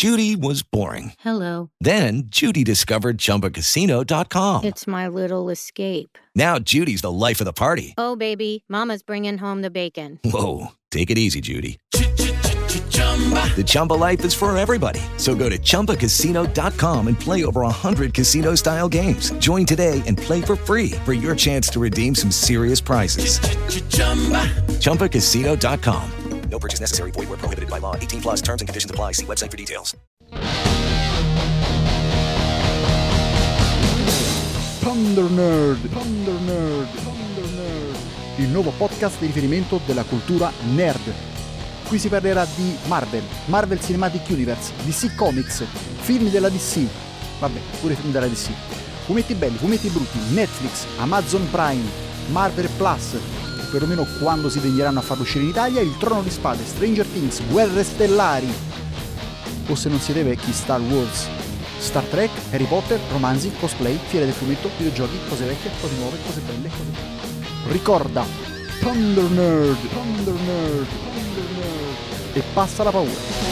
Judy was boring. Hello. Then Judy discovered ChumbaCasino.com. It's my little escape. Now Judy's the life of the party. Oh, baby, mama's bringing home the bacon. Whoa, take it easy, Judy. The Chumba life is for everybody. So go to ChumbaCasino.com and play over 100 casino-style games. Join today and play for free for your chance to redeem some serious prizes. ChumbaCasino.com. No purchase necessary. Void where prohibited by law. 18 plus terms and conditions apply. See website for details. Thunder Nerd, il nuovo podcast di riferimento della cultura nerd. Qui si parlerà di Marvel Cinematic Universe, DC Comics, film della DC, vabbè, pure film della DC, fumetti belli, fumetti brutti, Netflix, Amazon Prime, Marvel Plus, perlomeno quando si degneranno a farlo uscire in Italia, Il Trono di Spade, Stranger Things, Guerre Stellari, o se non siete vecchi, Star Wars, Star Trek, Harry Potter, romanzi, cosplay, fiere del fumetto, videogiochi, cose vecchie, cose nuove, cose belle, cose belle. Ricorda, Thunder Nerd, e passa la paura.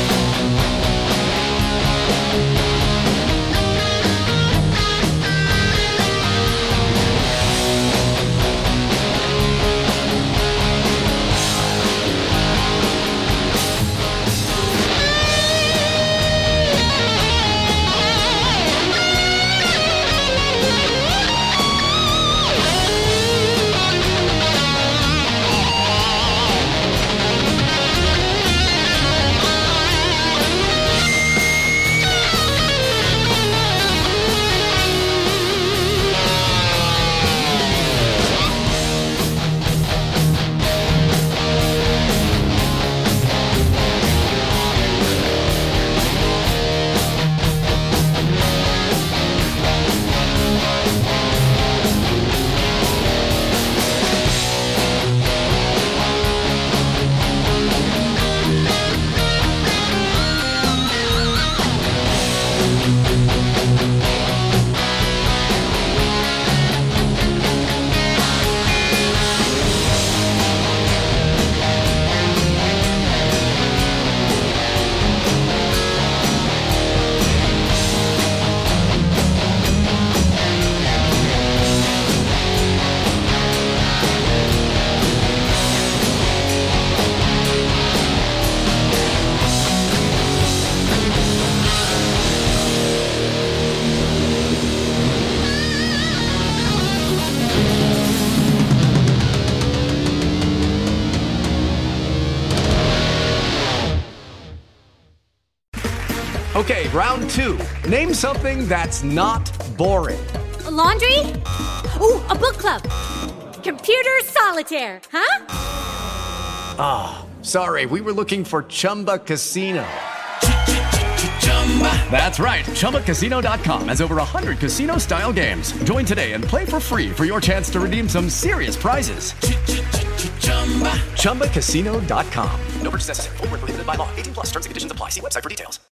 Okay, round two. Name something that's not boring. A laundry? Ooh, a book club. Computer solitaire, huh? Ah, oh, sorry, we were looking for Chumba Casino. That's right, ChumbaCasino.com has over 100 casino-style games. Join today and play for free for your chance to redeem some serious prizes. ChumbaCasino.com. No purchase necessary. Void where prohibited by law. 18 plus terms and conditions apply. See website for details.